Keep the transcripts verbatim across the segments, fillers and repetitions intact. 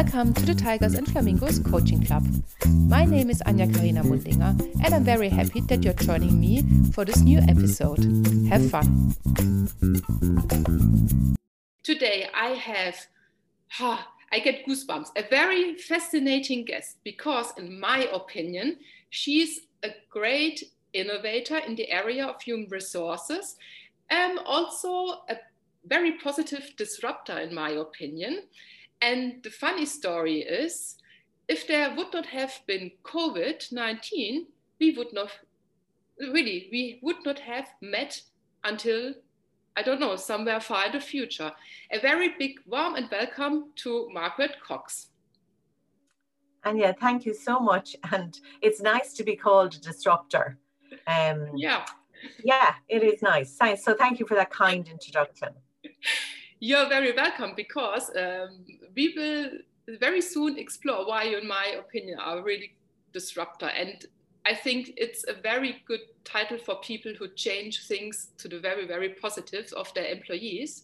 Welcome to the Tigers and Flamingos Coaching Club. My name is Anja Karina Mundinger and I'm very happy that you're joining me for this new episode. Have fun! Today I have, oh, I get goosebumps, a very fascinating guest because in my opinion, she's a great innovator in the area of human resources and also a very positive disruptor in my opinion. And the funny story is, if there would not have been COVID nineteen, we would not, really, we would not have met until, I don't know, somewhere far in the future. A very big warm and welcome to Margaret Cox. Anja, thank you so much. And it's nice to be called a disruptor. Um, yeah. Yeah, it is nice. So thank you for that kind introduction. You're very welcome because um, we will very soon explore why you, in my opinion, are really disruptor. And I think it's a very good title for people who change things to the very, very positives of their employees.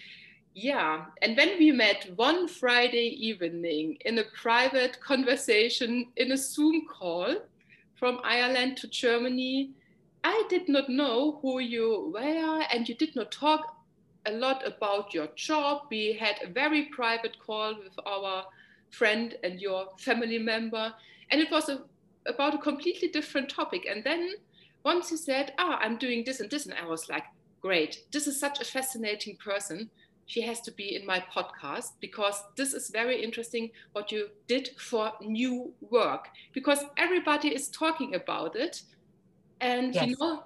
Yeah, and when we met one Friday evening in a private conversation in a Zoom call from Ireland to Germany, I did not know who you were and you did not talk a lot about your job. We had a very private call with our friend and your family member, and it was a, about a completely different topic. And then once you said, ah, I'm doing this and this, and I was like, great, this is such a fascinating person. She has to be in my podcast because this is very interesting what you did for new work, because everybody is talking about it. And yes. You know,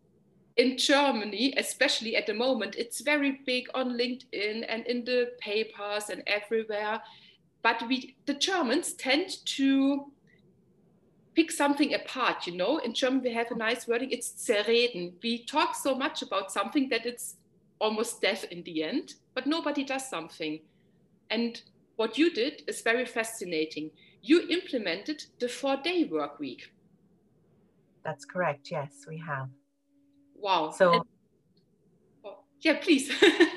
in Germany, especially at the moment, it's very big on LinkedIn and in the papers and everywhere. But we, the Germans tend to pick something apart, you know. In German, we have a nice wording, it's zerreden. We talk so much about something that it's almost death in the end, but nobody does something. And what you did is very fascinating. You implemented the four-day work week. That's correct, yes, we have. Wow. So, and, oh, yeah, please.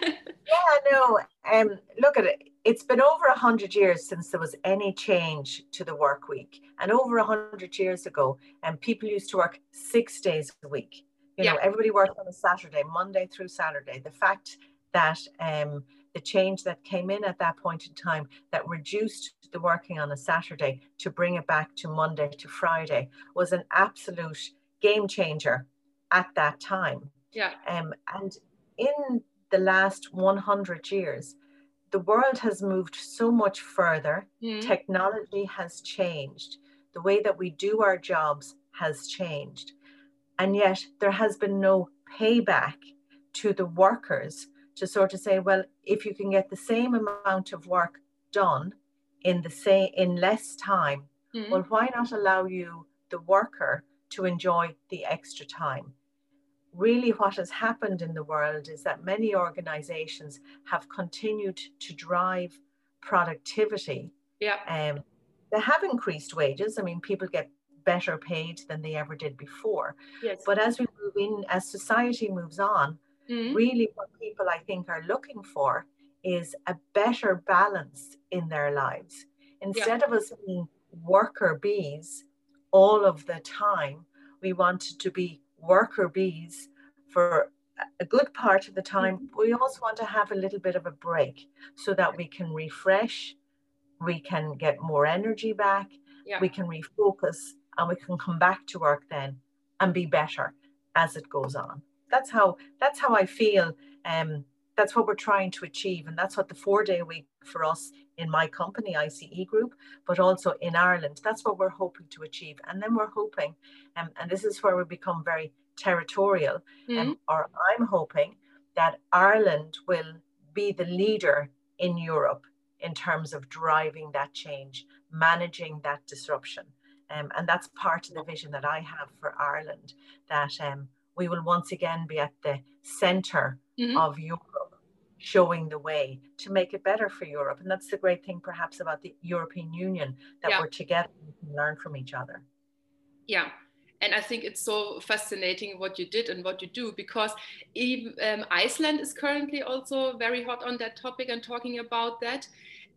yeah, no, um, look at it. It's been over a hundred years since there was any change to the work week. And over a hundred years ago, and um, people used to work six days a week. You know, yeah. Everybody worked on a Saturday, Monday through Saturday. The fact that um, the change that came in at that point in time that reduced the working on a Saturday to bring it back to Monday to Friday was an absolute game changer at that time. Yeah. Um, and in the last one hundred years, the world has moved so much further. Mm. Technology has changed. The way that we do our jobs has changed. And yet there has been no payback to the workers to sort of say, well, if you can get the same amount of work done in the same in less time, mm. well, why not allow you, the worker, to enjoy the extra time? Really, what has happened in the world is that many organizations have continued to drive productivity. Yeah. Um, they have increased wages. I mean, people get better paid than they ever did before. Yes. But as we move in, as society moves on, mm-hmm. really what people, I think, are looking for is a better balance in their lives. Instead yeah. of us being worker bees all of the time, we wanted to be worker bees for a good part of the time. Mm-hmm. We also want to have a little bit of a break so that we can refresh, we can get more energy back, yeah. we can refocus, and we can come back to work then and be better as it goes on. That's how that's how I feel. Um, that's what we're trying to achieve, and that's what the four-day week for us in my company, I C E Group, but also in Ireland, that's what we're hoping to achieve. And then we're hoping, um, and this is where we become very territorial, mm-hmm. um, or I'm hoping that Ireland will be the leader in Europe in terms of driving that change, managing that disruption. Um, and that's part of the vision that I have for Ireland, that um, we will once again be at the center mm-hmm. of Europe, showing the way to make it better for Europe. And that's the great thing perhaps about the European Union, that yeah. we're together and can learn from each other. Yeah. And I think it's so fascinating what you did and what you do, because even, um, Iceland is currently also very hot on that topic and talking about that.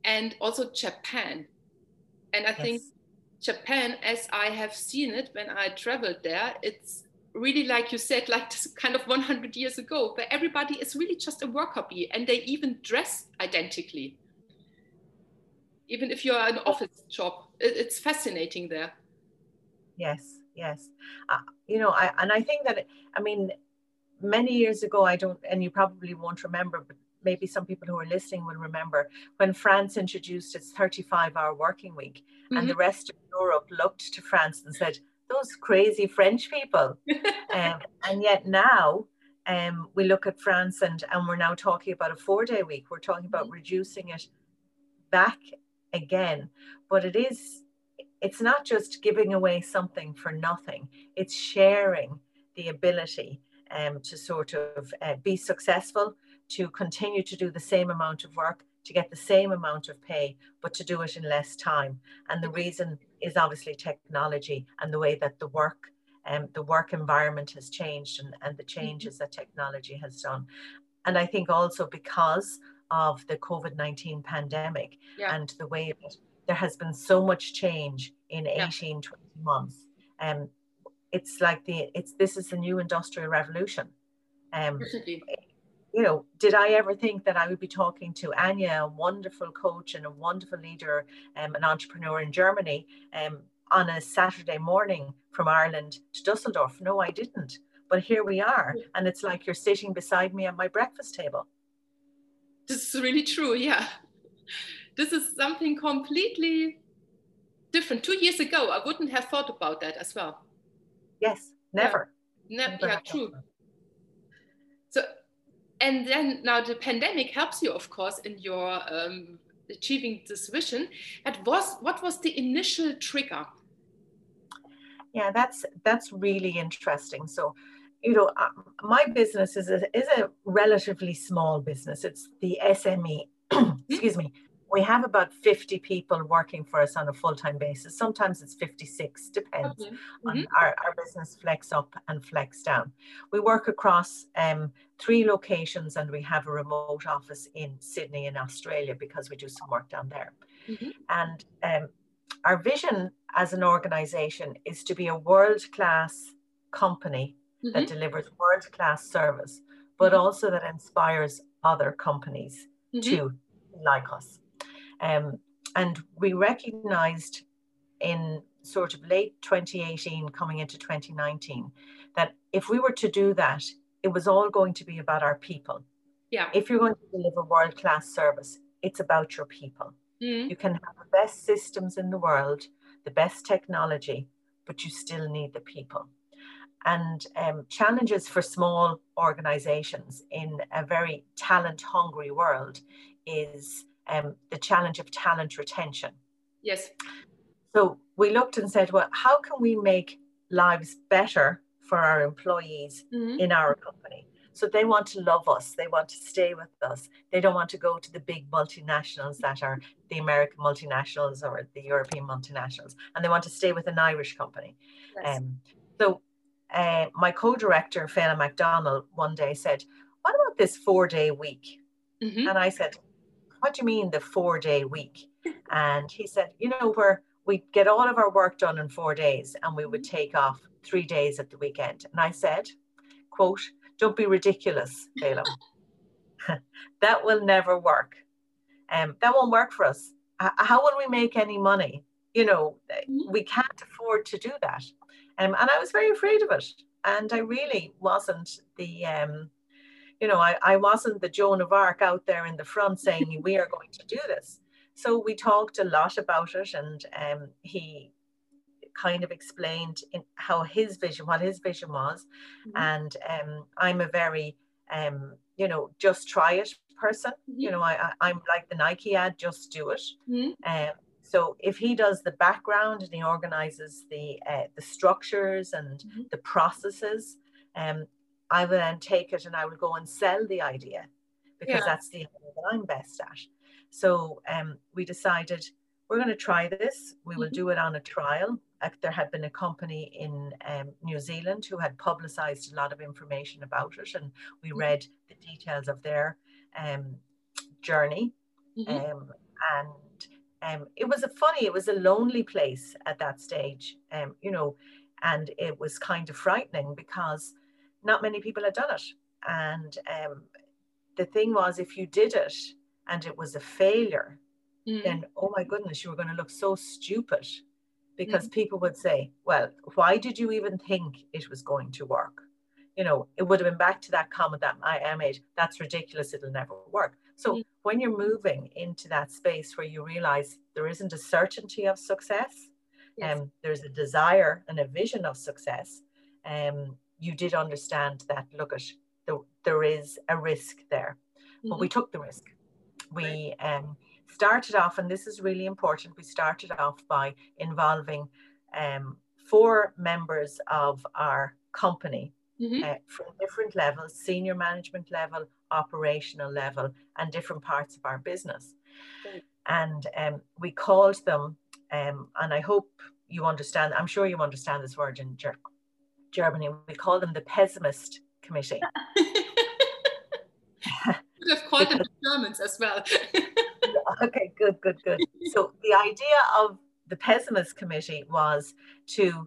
and also Japan. And I yes. think Japan, as I have seen it when I traveled there, it's really, like you said, like this kind of one hundred years ago, where everybody is really just a worker bee, and they even dress identically. Even if you're an office job, it's fascinating there. Yes, yes. Uh, you know, I and I think that, I mean, many years ago, I don't, and you probably won't remember, but maybe some people who are listening will remember when France introduced its thirty-five hour working week, mm-hmm. and the rest of Europe looked to France and said, those crazy French people. um, and yet now um, we look at France and, and we're now talking about a four day week. We're talking about mm-hmm. reducing it back again. But it is, it's not just giving away something for nothing. It's sharing the ability um, to sort of uh, be successful, to continue to do the same amount of work, to get the same amount of pay, but to do it in less time. And the reason is obviously technology and the way that the work um, the work environment has changed, and, and the changes that technology has done. And I think also because of the COVID nineteen pandemic yeah. and the way that there has been so much change in eighteen, yeah. twenty months. Um, it's like the, it's, this is the new industrial revolution. Um, you know, did I ever think that I would be talking to Anya, a wonderful coach and a wonderful leader, um, an entrepreneur in Germany, um, on a Saturday morning from Ireland to Dusseldorf? No, I didn't. But here we are. And it's like you're sitting beside me at my breakfast table. This is really true, yeah. This is something completely different. Two years ago, I wouldn't have thought about that as well. Yes, never. Yeah, ne- never yeah true. So, and then now the pandemic helps you, of course, in your um, achieving this vision. But was, what was the initial trigger? Yeah, that's that's really interesting. So, you know, uh, my business is a, is a relatively small business. It's the S M E. Excuse me. We have about fifty people working for us on a full-time basis. Sometimes it's fifty-six, depends okay. mm-hmm. on our, our business flex up and flex down. We work across um, three locations, and we have a remote office in Sydney in Australia because we do some work down there. Mm-hmm. And um, our vision as an organization is to be a world-class company mm-hmm. that delivers world-class service, but mm-hmm. also that inspires other companies mm-hmm. to be like us. Um, and we recognized in sort of late twenty eighteen, coming into twenty nineteen, that if we were to do that, it was all going to be about our people. Yeah. If you're going to deliver world-class service, it's about your people. Mm-hmm. You can have the best systems in the world, the best technology, but you still need the people. And um, challenges for small organizations in a very talent-hungry world is um, the challenge of talent retention. Yes. So we looked and said, well, how can we make lives better for our employees mm-hmm. in our company? So they want to love us. They want to stay with us. They don't want to go to the big multinationals that are the American multinationals or the European multinationals. And they want to stay with an Irish company. Yes. Um, so uh, my co-director, Fela McDonald, one day said, what about this four-day week? Mm-hmm. And I said, what do you mean the four-day week? And he said, you know, where we get all of our work done in four days and we would take off three days at the weekend. And I said, quote, don't be ridiculous, Balaam. That will never work. Um, that won't work for us. H- how will we make any money? You know, mm-hmm. we can't afford to do that. Um, and I was very afraid of it. And I really wasn't the... Um, You know, I, I wasn't the Joan of Arc out there in the front saying we are going to do this. So we talked a lot about it, and um, he kind of explained in how his vision, what his vision was. Mm-hmm. And um, I'm a very, um, you know, just try it person. Mm-hmm. You know, I, I, I'm like the Nike ad, just do it. Mm-hmm. Um, so if he does the background and he organizes the uh, the structures and mm-hmm. the processes, um, I will then take it and I will go and sell the idea because yeah. that's the idea that I'm best at. So um, we decided we're going to try this. We will mm-hmm. do it on a trial. Uh, there had been a company in um, New Zealand who had publicized a lot of information about it, and we mm-hmm. read the details of their um, journey. Mm-hmm. Um, And um, it was a funny, it was a lonely place at that stage, um, you know, and it was kind of frightening because not many people had done it. And um, the thing was, if you did it and it was a failure, mm. then, oh my goodness, you were going to look so stupid, because mm. people would say, well, why did you even think it was going to work? You know, it would have been back to that comment that I made, that's ridiculous, it'll never work. So mm. when you're moving into that space where you realize there isn't a certainty of success, yes. um, there's a desire and a vision of success, um, you did understand that, look, at the, there is a risk there. Mm-hmm. But we took the risk. We um, started off, and this is really important, we started off by involving um, four members of our company, mm-hmm. uh, from different levels, senior management level, operational level, and different parts of our business. Right. And um, we called them, um, and I hope you understand, I'm sure you understand this word in Ger- Germany, we call them the pessimist committee. Could have called them the Germans as well. Okay, good, good, good. So the idea of the pessimist committee was to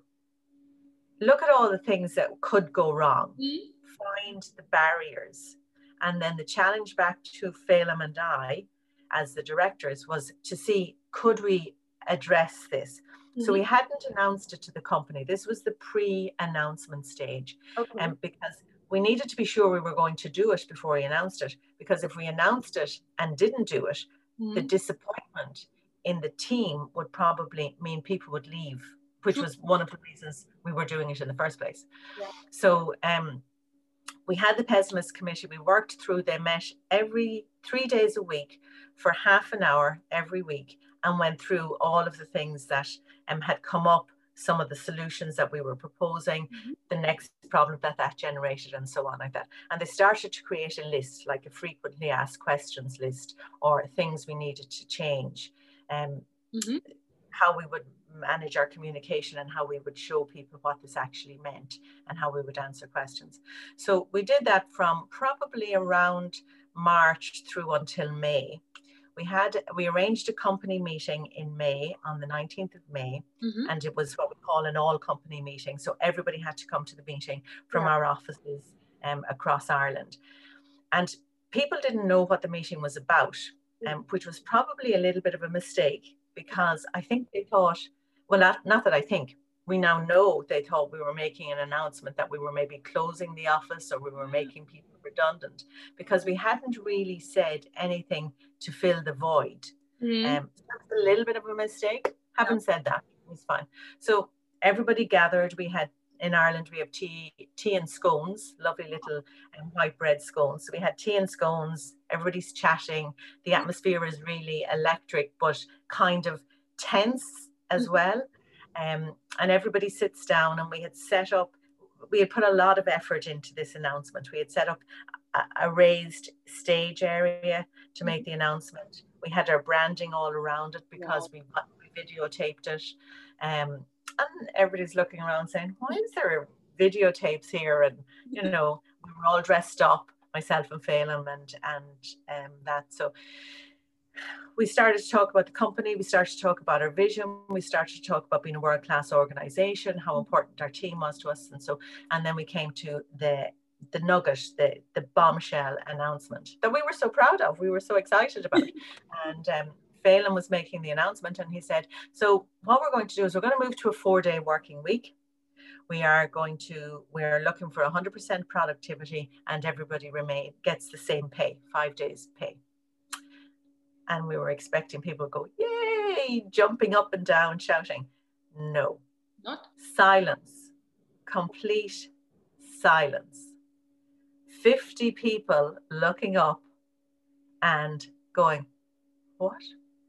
look at all the things that could go wrong, mm-hmm. find the barriers, and then the challenge back to Phelim and I, as the directors, was to see, could we address this? Mm-hmm. So we hadn't announced it to the company. This was the pre-announcement stage, okay. and um, because we needed to be sure we were going to do it before we announced it, because if we announced it and didn't do it, mm-hmm. the disappointment in the team would probably mean people would leave, which was one of the reasons we were doing it in the first place. Yeah. So um, we had the pessimist committee. We worked through, they met every three days a week for half an hour every week, and went through all of the things that um, had come up, some of the solutions that we were proposing, mm-hmm. the next problem that that generated, and so on like that. And they started to create a list, like a frequently asked questions list, or things we needed to change, um, mm-hmm. how we would manage our communication, and how we would show people what this actually meant, and how we would answer questions. So we did that from probably around March through until May. We had, we arranged a company meeting in May, on the nineteenth of May, mm-hmm. and it was what we call an all company meeting. So everybody had to come to the meeting from yeah. our offices um, across Ireland. And people didn't know what the meeting was about, um, which was probably a little bit of a mistake, because I think they thought, well, not, not that I think, we now know they thought we were making an announcement that we were maybe closing the office, or we were making people redundant, because we hadn't really said anything to fill the void. Mm. Um, that's a little bit of a mistake. Haven't yeah. said that, it's fine. So everybody gathered. We had, in Ireland, we have tea, tea and scones, lovely little um, white bread scones. So we had tea and scones, everybody's chatting. The atmosphere is really electric, but kind of tense as well. Um, and everybody sits down, and we had set up, we had put a lot of effort into this announcement. We had set up a, a raised stage area to make the announcement. We had our branding all around it, because wow. we, we videotaped it. Um, and everybody's looking around saying, why is there videotapes here? And, you know, we were all dressed up, myself and Phelim, and, and um, that. So we started to talk about the company, we started to talk about our vision, we started to talk about being a world-class organization, how important our team was to us, and so, and then we came to the the nugget, the the bombshell announcement that we were so proud of, we were so excited about. And um, Phelim was making the announcement, and he said, so what we're going to do is we're going to move to a four-day working week. We are going to, we're looking for one hundred percent productivity, and everybody remain gets the same pay, five days pay. And we were expecting people to go, yay, jumping up and down, shouting. No. Not? Silence. Complete silence. fifty people looking up and going, what?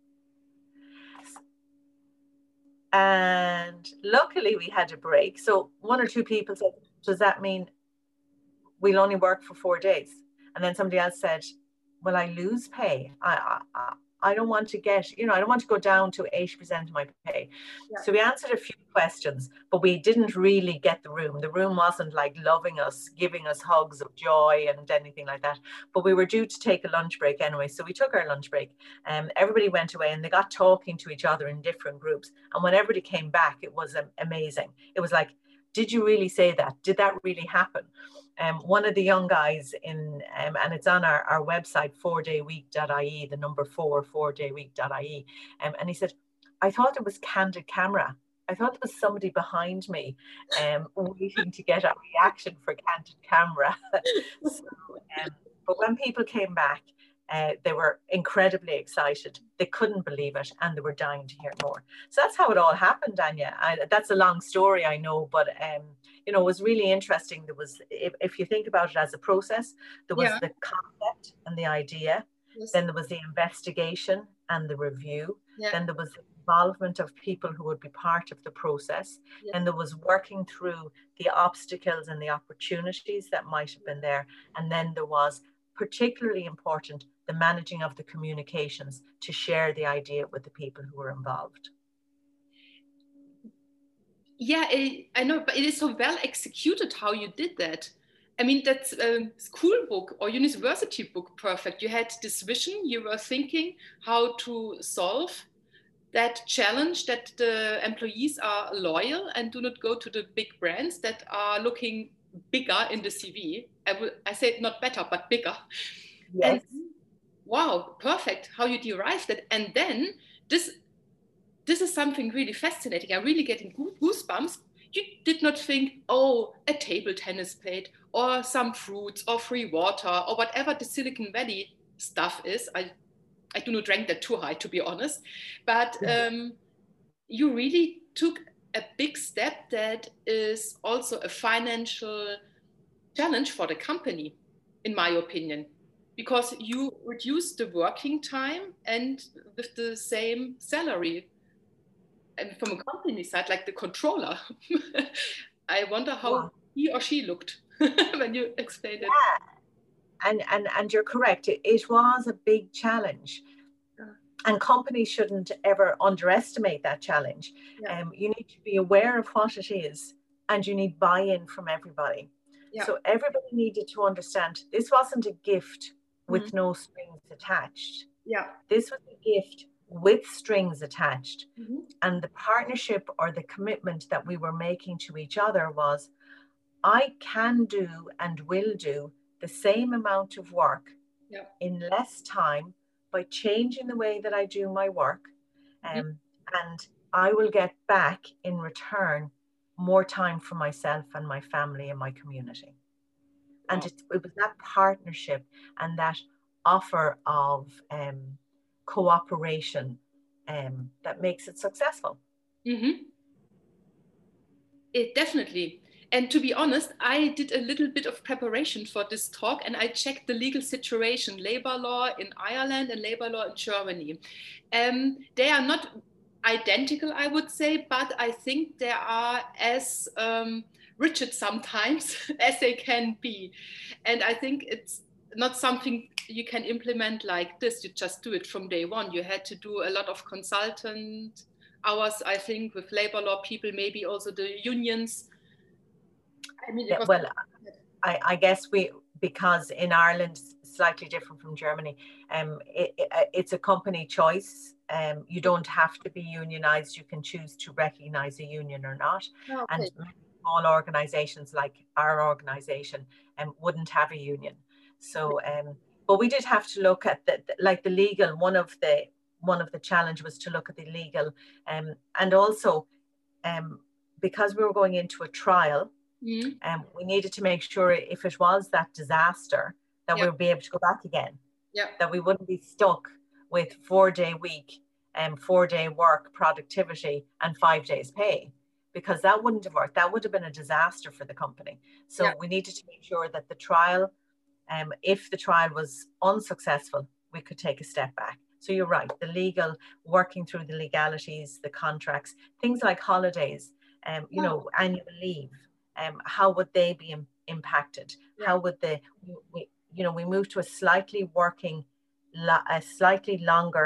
And luckily we had a break. So one or two people said, does that mean we'll only work for four days? And then somebody else said, will I lose pay? I, I, I don't want to get, you know, I don't want to go down to eighty percent of my pay. Yeah. So we answered a few questions, but we didn't really get the room. The room wasn't like loving us, giving us hugs of joy and anything like that. But we were due to take a lunch break anyway. So we took our lunch break and everybody went away and they got talking to each other in different groups. And when everybody came back, it was amazing. It was like, did you really say that? Did that really happen? Um, one of the young guys in, um, and it's on our, our website, four day week dot I E, the number four, four day week dot I E. Um, and he said, I thought it was candid camera. I thought there was somebody behind me um, waiting to get a reaction for candid camera. so, um, but when people came back, uh, they were incredibly excited. They couldn't believe it and they were dying to hear more. So that's how it all happened, Anya. I, that's a long story, I know, but um, you know, it was really interesting. There was, if, if you think about it as a process, there was yeah. the concept and the idea. Yes. Then there was the investigation and the review. Yeah. Then there was the involvement of people who would be part of the process. Yeah. And there was working through the obstacles and the opportunities that might have been there. And then there was, particularly important, the managing of the communications to share the idea with the people who were involved. Yeah, it, I know, but it is so well executed how you did that. I mean, that's a school book or university book perfect. You had this vision, you were thinking how to solve that challenge, that the employees are loyal and do not go to the big brands that are looking bigger in the C V. I, will, I said not better, but bigger. Yes. And wow, perfect how you derived that. And then this, this is something really fascinating. I'm really getting goosebumps. You did not think, oh, a table tennis plate or some fruits or free water or whatever the Silicon Valley stuff is. I, I do not rank that too high, to be honest. But um, you really took a big step that is also a financial challenge for the company, in my opinion, because you reduce the working time and with the same salary. And from a company side, like the controller, I wonder how yeah. he or she looked when you explained it. Yeah. And, and, and you're correct. It, it was a big challenge. Yeah. And companies shouldn't ever underestimate that challenge. Yeah. Um, you need to be aware of what it is and you need buy-in from everybody. Yeah. So everybody needed to understand this wasn't a gift with mm-hmm. no strings attached. Yeah. This was a gift with strings attached. Mm-hmm. And the partnership or the commitment that we were making to each other was, I can do and will do the same amount of work yeah. in less time by changing the way that I do my work. Um, mm-hmm. And I will get back in return more time for myself and my family and my community. Wow. And it, it was that partnership and that offer of um, cooperation um, that makes it successful. Mm-hmm. It definitely. And to be honest, I did a little bit of preparation for this talk and I checked the legal situation, labor law in Ireland and labor law in Germany. Um, they are not identical, I would say, but I think they are as um, rigid sometimes as they can be. And I think it's not something you can implement like this. You just do it from day one. You had to do a lot of consultant hours, I think, with labor law people, maybe also the unions. I mean, yeah, well, I, I guess we, because in Ireland, slightly different from Germany, um, it, it, it's a company choice. Um, you don't have to be unionized. You can choose to recognize a union or not. Okay. And small organizations like our organization um, wouldn't have a union. So, um, but we did have to look at the, like the legal, one of the, one of the challenge was to look at the legal um, and also um, because we were going into a trial, mm-hmm. um, we needed to make sure if it was that disaster that yeah. we would be able to go back again, yeah. that we wouldn't be stuck with four day week and um, four day work productivity and five days pay, because that wouldn't have worked. That would have been a disaster for the company. So yeah. we needed to make sure that the trial, um, if the trial was unsuccessful, we could take a step back. So you're right, the legal, working through the legalities, the contracts, things like holidays, um, you oh. know, annual leave, um, how would they be im- impacted? Yeah. How would they, we, you know, we moved to a slightly working, a slightly longer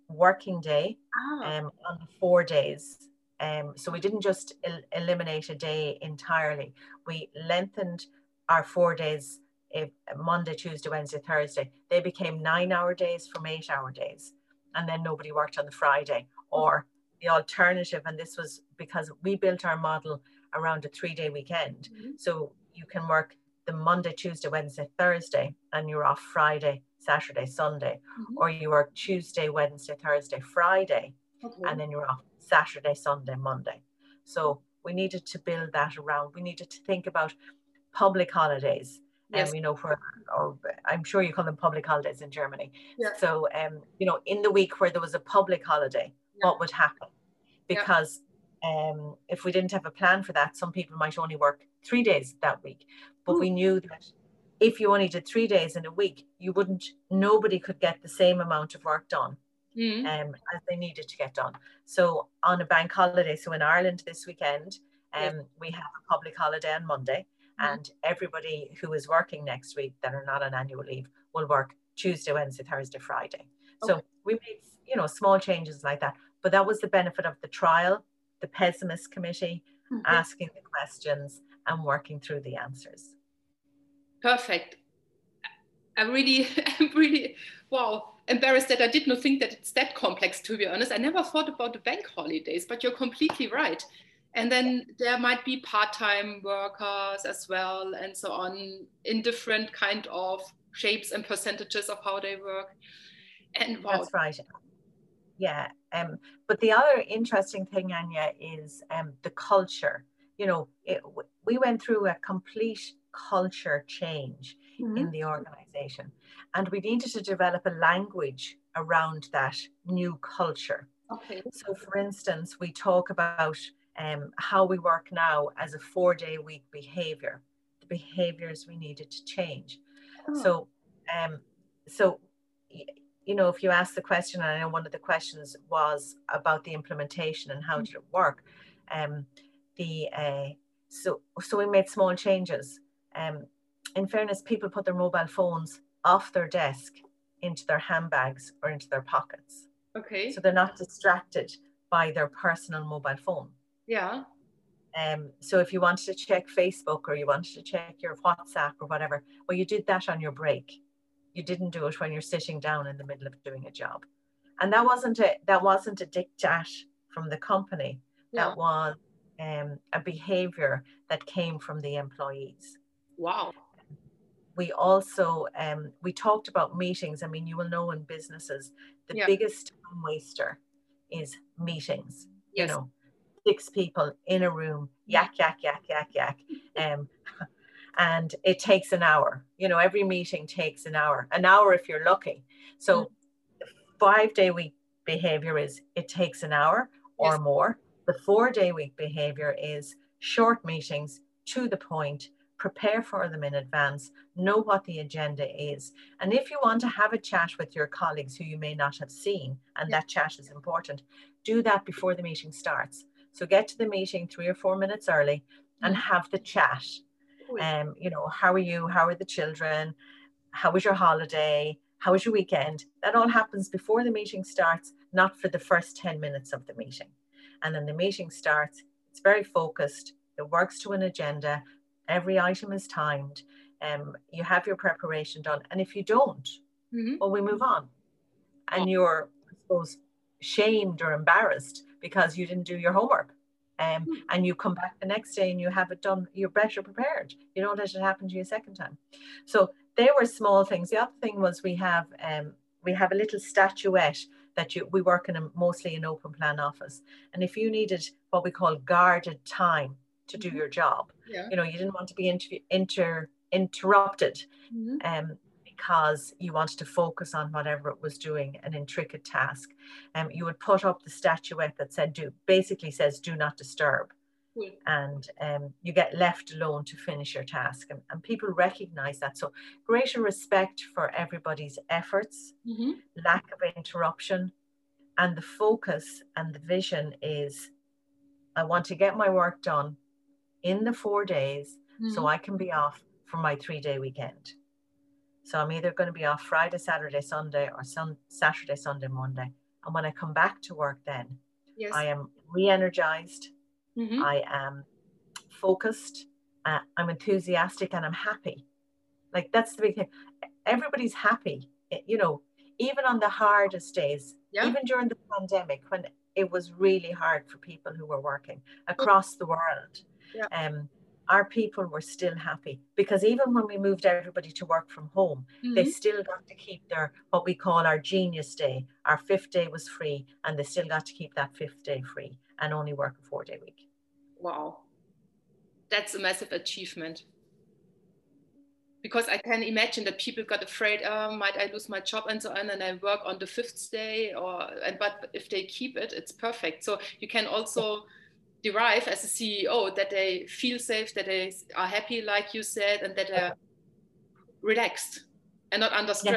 working day ah. um, on the four days. Um, so we didn't just el eliminate a day entirely. We lengthened our four days, if Monday, Tuesday, Wednesday, Thursday. They became nine hour days from eight hour days. And then nobody worked on the Friday. Or the alternative, and this was because we built our model around a three day weekend. Mm-hmm. So you can work the Monday, Tuesday, Wednesday, Thursday, and you're off Friday, Saturday, Sunday. Mm-hmm. Or you work Tuesday, Wednesday, Thursday, Friday, okay. and then you're off Saturday, Sunday, Monday. So we needed to build that around. We needed to think about public holidays. Yes. Um, you know, for, or I'm sure you call them public holidays in Germany. Yeah. So, um, you know, in the week where there was a public holiday, yeah. what would happen? Because yeah. um, if we didn't have a plan for that, some people might only work three days that week. But Ooh. We knew that if you only did three days in a week, you wouldn't, nobody could get the same amount of work done mm. um, as they needed to get done. So on a bank holiday, so in Ireland this weekend, um, yeah. we have a public holiday on Monday. And everybody who is working next week that are not on annual leave will work Tuesday, Wednesday, Thursday, Friday. Okay. So we made, you know, small changes like that. But that was the benefit of the trial, the pessimist committee, mm-hmm. asking the questions and working through the answers. Perfect. I really, I'm really, wow, embarrassed that I did not think that it's that complex, to be honest. I never thought about the bank holidays, but you're completely right. And then there might be part-time workers as well, and so on, in different kind of shapes and percentages of how they work. And wow. That's right. Yeah. Um, but the other interesting thing, Anya, is um, the culture. You know, it, we went through a complete culture change mm-hmm. in the organization, and we needed to develop a language around that new culture. Okay. So, for instance, we talk about Um, how we work now as a four-day week behavior, the behaviors we needed to change. Oh. So, um, so you know, if you ask the question, and I know one of the questions was about the implementation and how mm-hmm. did it work, um, the uh, so so we made small changes. Um, in fairness, people put their mobile phones off their desk into their handbags or into their pockets. Okay. So they're not distracted by their personal mobile phone. Yeah. Um, so if you wanted to check Facebook or you wanted to check your WhatsApp or whatever, well, you did that on your break. You didn't do it when you're sitting down in the middle of doing a job. And that wasn't a, that wasn't a diktat from the company. Yeah. That was um, a behavior that came from the employees. Wow. We also, um, we talked about meetings. I mean, you will know in businesses, the yeah. biggest time waster is meetings, yes. you know. Six people in a room, yak, yak, yak, yak, yak. Um, and it takes an hour. You know, every meeting takes an hour, an hour if you're lucky. So mm. the five day week behavior is it takes an hour or yes. more. The four day week behavior is short meetings, to the point, prepare for them in advance, know what the agenda is. And if you want to have a chat with your colleagues who you may not have seen, and yeah. that chat is important, do that before the meeting starts. So get to the meeting three or four minutes early and mm-hmm. have the chat. Um, you know, how are you? How are the children? How was your holiday? How was your weekend? That all happens before the meeting starts, not for the first ten minutes of the meeting. And then the meeting starts, it's very focused, it works to an agenda, every item is timed, um, you have your preparation done. And if you don't, mm-hmm. well, we move on. And oh. you're, I suppose, shamed or embarrassed because you didn't do your homework, um, and you come back the next day and you have it done, you're better prepared. You don't let it happen to you a second time. So they were small things. The other thing was we have um, we have a little statuette that you we work in a mostly an open plan office, and if you needed what we call guarded time to do mm-hmm. your job, yeah. you know, you didn't want to be inter, inter interrupted. Mm-hmm. um, because you wanted to focus on whatever it was doing, an intricate task. Um, you would put up the statuette that said, do, basically says, do not disturb. Mm. And um, you get left alone to finish your task. And, and people recognize that. So greater respect for everybody's efforts, mm-hmm. lack of interruption, and the focus and the vision is, I want to get my work done in the four days mm-hmm. so I can be off for my three day weekend. So I'm either going to be off Friday, Saturday, Sunday, or sun, Saturday, Sunday, Monday. And when I come back to work then, yes. I am re-energized, mm-hmm. I am focused, uh, I'm enthusiastic, and I'm happy. Like, that's the big thing. Everybody's happy, you know, even on the hardest days, yeah. even during the pandemic, when it was really hard for people who were working across the world. Yeah. Um, our people were still happy, because even when we moved everybody to work from home, mm-hmm. they still got to keep their, what we call our genius day. Our fifth day was free, and they still got to keep that fifth day free and only work a four day week. Wow. That's a massive achievement. Because I can imagine that people got afraid, oh, might I lose my job and so on, and I work on the fifth day, or, and but if they keep it, it's perfect. So you can also derive as a C E O that they feel safe, that they are happy, like you said, and that they're relaxed and not under stress.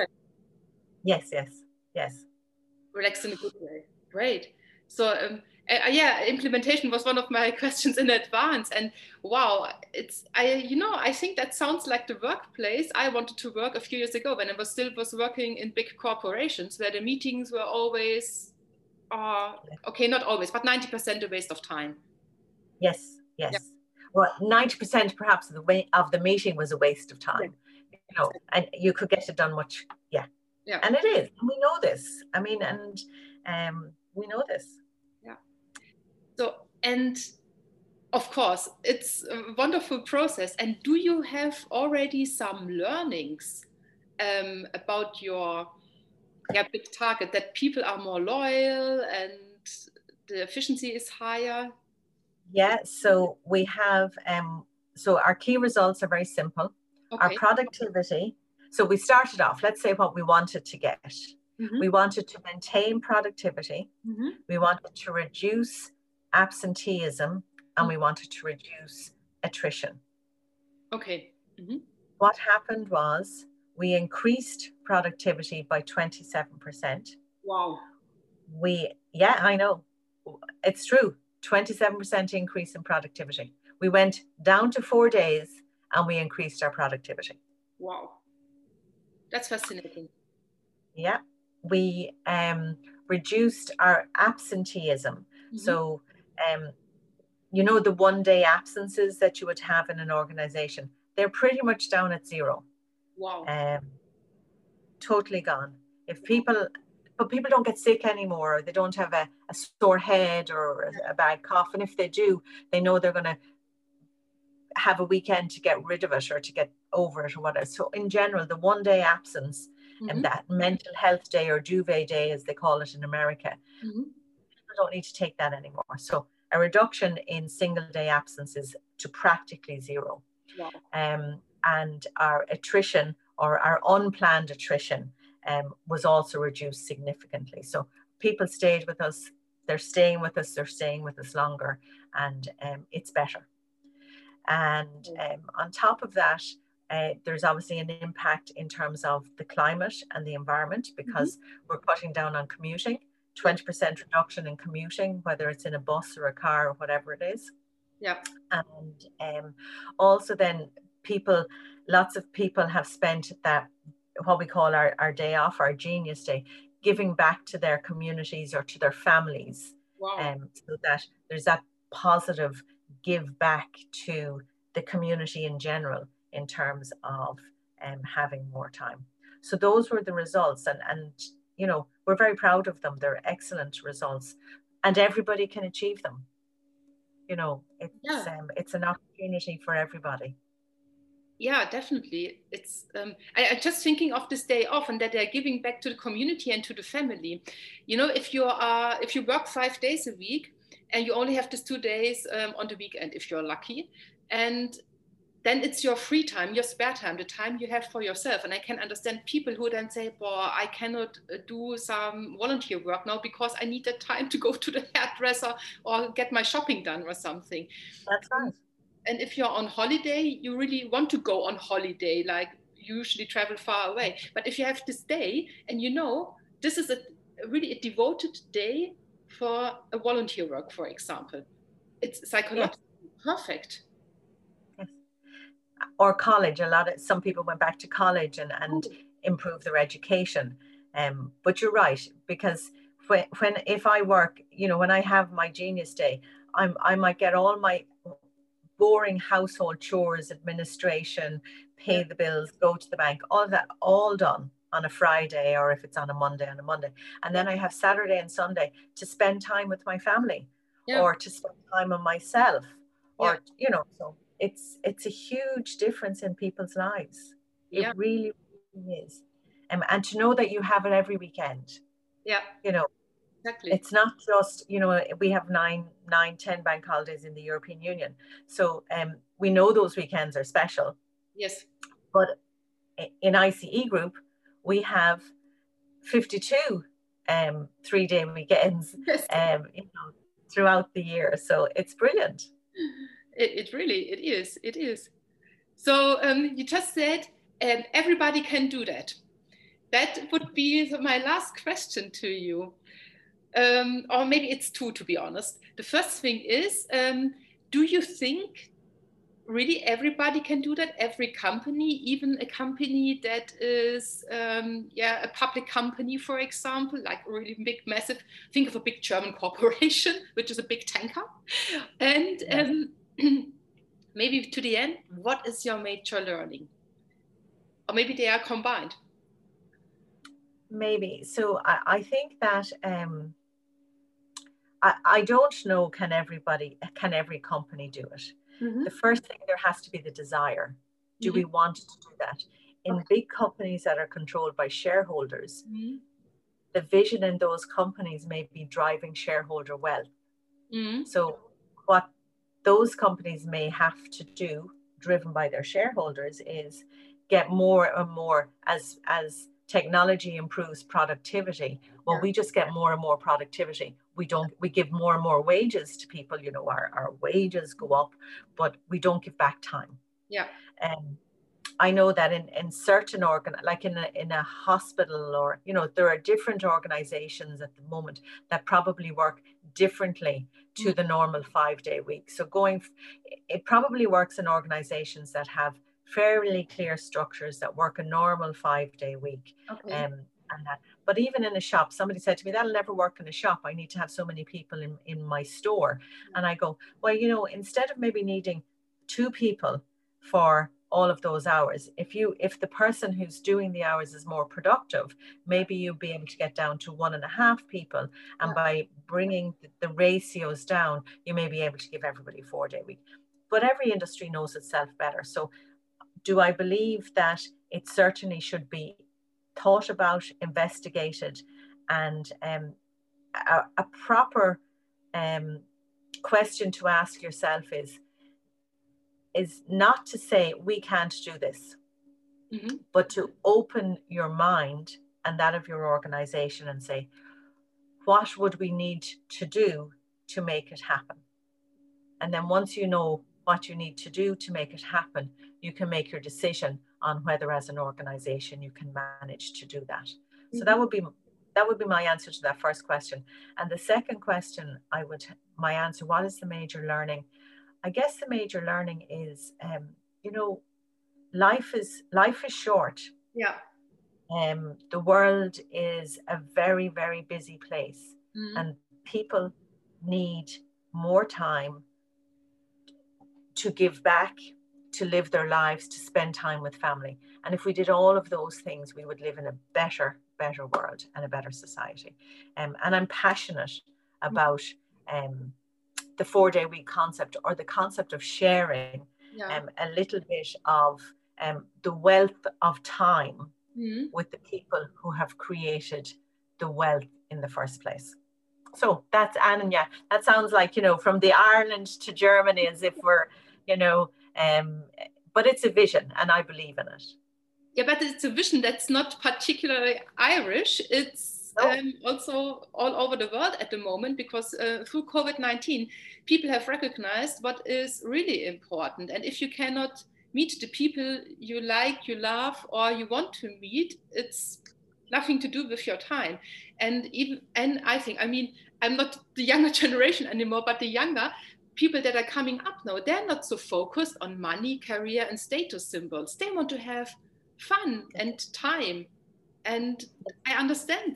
Yes, yes, yes. Relaxed in a good way. Great. So um, uh, yeah, implementation was one of my questions in advance, and wow, it's I you know I think that sounds like the workplace I wanted to work a few years ago when I was still was working in big corporations, where the meetings were always, uh, okay, not always, but ninety percent a waste of time. Yes, yes. Yeah. Well, ninety percent perhaps of the way of the meeting was a waste of time. Yeah. You know, and you could get it done much, yeah. Yeah. And it is. We know this. I mean, and um, we know this. Yeah. So, and of course, it's a wonderful process. And do you have already some learnings um, about your yeah, big target, that people are more loyal and the efficiency is higher? Yeah, so we have, um, so our key results are very simple. Okay. Our productivity, so we started off, let's say what we wanted to get. Mm-hmm. We wanted to maintain productivity. Mm-hmm. We wanted to reduce absenteeism, and mm-hmm. we wanted to reduce attrition. Okay. Mm-hmm. What happened was we increased productivity by twenty-seven percent. Wow. We, yeah, I know. It's true. twenty-seven percent increase in productivity. We went down to four days and we increased our productivity. Wow. That's fascinating. Yeah. We um, reduced our absenteeism. Mm-hmm. So, um, you know, the one day absences that you would have in an organization, they're pretty much down at zero. Wow. Um, totally gone. If people, but people don't get sick anymore. They don't have a, a sore head or a, a bad cough. And if they do, they know they're going to have a weekend to get rid of it or to get over it or whatever. So in general, the one day absence mm-hmm. and that mental health day or duvet day, as they call it in America, mm-hmm. people don't need to take that anymore. So a reduction in single day absences to practically zero. Wow. Um, and our attrition or our unplanned attrition um, was also reduced significantly. So people stayed with us, they're staying with us, they're staying with us longer, and um, it's better. And um, on top of that, uh, there's obviously an impact in terms of the climate and the environment, because mm-hmm. we're cutting down on commuting, twenty percent reduction in commuting, whether it's in a bus or a car or whatever it is. Yeah. And um, also then people, lots of people have spent that, what we call our, our day off, our genius day, giving back to their communities or to their families. Wow. Um, so that there's that positive give back to the community in general in terms of um, having more time. So those were the results, and, and you know, we're very proud of them. They're excellent results, and everybody can achieve them. You know, it's yeah. um, it's an opportunity for everybody. Yeah, definitely. It's um, I, I'm just thinking of this day off and that they're giving back to the community and to the family. You know, if you are if you work five days a week and you only have these two days um, on the weekend, if you're lucky, and then it's your free time, your spare time, the time you have for yourself. And I can understand people who then say, "Boy, I cannot do some volunteer work now because I need the time to go to the hairdresser or get my shopping done or something." That's right. And if you're on holiday, you really want to go on holiday, like usually travel far away. But if you have this day and you know, this is a really a devoted day for a volunteer work, for example, it's psychologically yes. perfect. Yes. Or college, a lot of, some people went back to college and, and oh. improved their education. Um, but you're right, because when, when if I work, you know, when I have my genius day, I'm I might get all my boring household chores, administration, pay the bills, go to the bank, all of that, all done on a Friday, or if it's on a Monday, on a Monday. And then I have Saturday and Sunday to spend time with my family, yeah. or to spend time on myself, or, yeah. you know, so it's, it's a huge difference in people's lives. It yeah. really, really is. Um, and to know that you have it every weekend. Yeah. You know, exactly. It's not just, you know, we have nine, nine, ten bank holidays in the European Union. So um, we know those weekends are special. Yes. But in I C E Group, we have fifty-two um, three-day weekends yes. um, you know, throughout the year. So it's brilliant. It, it really, it is, it is. So um, you just said um, everybody can do that. That would be my last question to you. Um, or maybe it's two, to be honest. The first thing is, um, do you think really everybody can do that? Every company, even a company that is, um, yeah, a public company, for example, like a really big, massive, think of a big German corporation, which is a big tanker. And yes. um, maybe to the end, what is your major learning? Or maybe they are combined. Maybe. So I, I think that um, I, I don't know, can everybody, can every company do it? Mm-hmm. The first thing, there has to be the desire. Do mm-hmm. we want to do that? In okay. big companies that are controlled by shareholders, mm-hmm. the vision in those companies may be driving shareholder wealth. Mm-hmm. So what those companies may have to do, driven by their shareholders, is get more and more as, as technology improves productivity. Well, yeah. we just get more and more productivity. We don't, we give more and more wages to people, you know, our, our wages go up, but we don't give back time. Yeah. Um, I know that in, in certain organ, like in a, in a hospital, or, you know, there are different organizations at the moment that probably work differently to mm. the normal five day week. So going, it probably works in organizations that have fairly clear structures that work a normal five day week. Okay. Um, and that, but even in a shop, somebody said to me, that'll never work in a shop. I need to have so many people in, in my store. Yeah. And I go, well, you know, instead of maybe needing two people for all of those hours, if you, if the person who's doing the hours is more productive, maybe you'll be able to get down to one and a half people. And yeah. by bringing the, the ratios down, you may be able to give everybody a four day week. But every industry knows itself better. So do I believe that it certainly should be thought about, investigated, and um, a, a proper um, question to ask yourself is, is not to say we can't do this, mm-hmm. but to open your mind and that of your organization and say, what would we need to do to make it happen? And then once you know what you need to do to make it happen, you can make your decision on whether as an organization you can manage to do that. Mm-hmm. So that would be that would be my answer to that first question. And the second question, I would my answer, what is the major learning? I guess the major learning is, um, you know, life is life is short. Yeah. Um, the world is a very, very busy place, mm-hmm. and people need more time to give back, to live their lives, to spend time with family. And if we did all of those things, we would live in a better, better world and a better society. Um, and I'm passionate about um, the four-day week concept, or the concept of sharing yeah. um, a little bit of um, the wealth of time mm-hmm. with the people who have created the wealth in the first place. So that's Anya. That sounds like, you know, from the Ireland to Germany, as if we're, you know, um, but it's a vision, and I believe in it. Yeah, but it's a vision that's not particularly Irish. It's no. um, also all over the world at the moment, because uh, through COVID nineteen, people have recognized what is really important. And if you cannot meet the people you like, you love, or you want to meet, it's nothing to do with your time. And even, and I think, I mean, I'm not the younger generation anymore, but the younger people that are coming up now, they're not so focused on money, career, and status symbols. They want to have fun and time. And I understand that.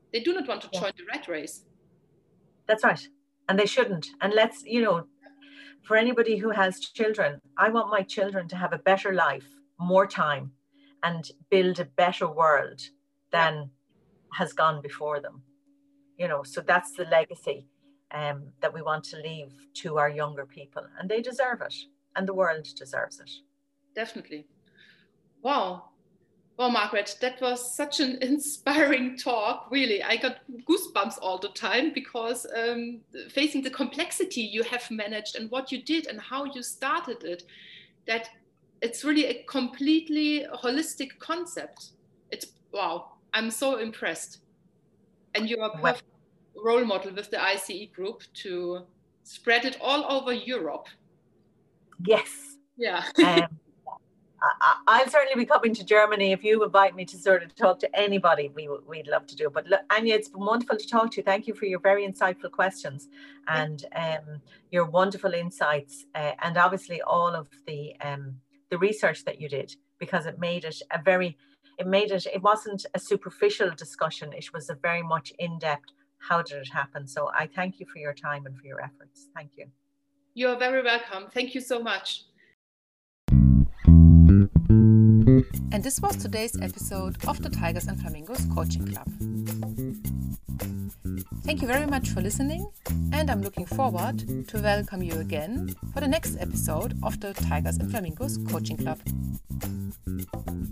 They do not want to join yeah. the rat race. That's right. And they shouldn't. And let's, you know, for anybody who has children, I want my children to have a better life, more time, and build a better world than yeah. has gone before them. You know, so that's the legacy um, that we want to leave to our younger people. And they deserve it. And the world deserves it. Definitely. Wow. Well, Margaret, that was such an inspiring talk. Really, I got goosebumps all the time because um, facing the complexity you have managed and what you did and how you started it, that it's really a completely holistic concept. It's wow, I'm so impressed. And you're a perfect role model with the I C E group to spread it all over Europe. Yes. Yeah. um, I, I'll certainly be coming to Germany if you invite me to sort of talk to anybody. We, we'd love to do it. But look, Anya, it's been wonderful to talk to you. Thank you for your very insightful questions and um, your wonderful insights, uh, and obviously all of the um, the research that you did, because it made it a very, it made it, it wasn't a superficial discussion. It was a very much in-depth, how did it happen? So I thank you for your time and for your efforts. Thank you. You're very welcome. Thank you so much. And this was today's episode of the Tigers and Flamingos Coaching Club. Thank you very much for listening, and I'm looking forward to welcome you again for the next episode of the Tigers and Flamingos Coaching Club.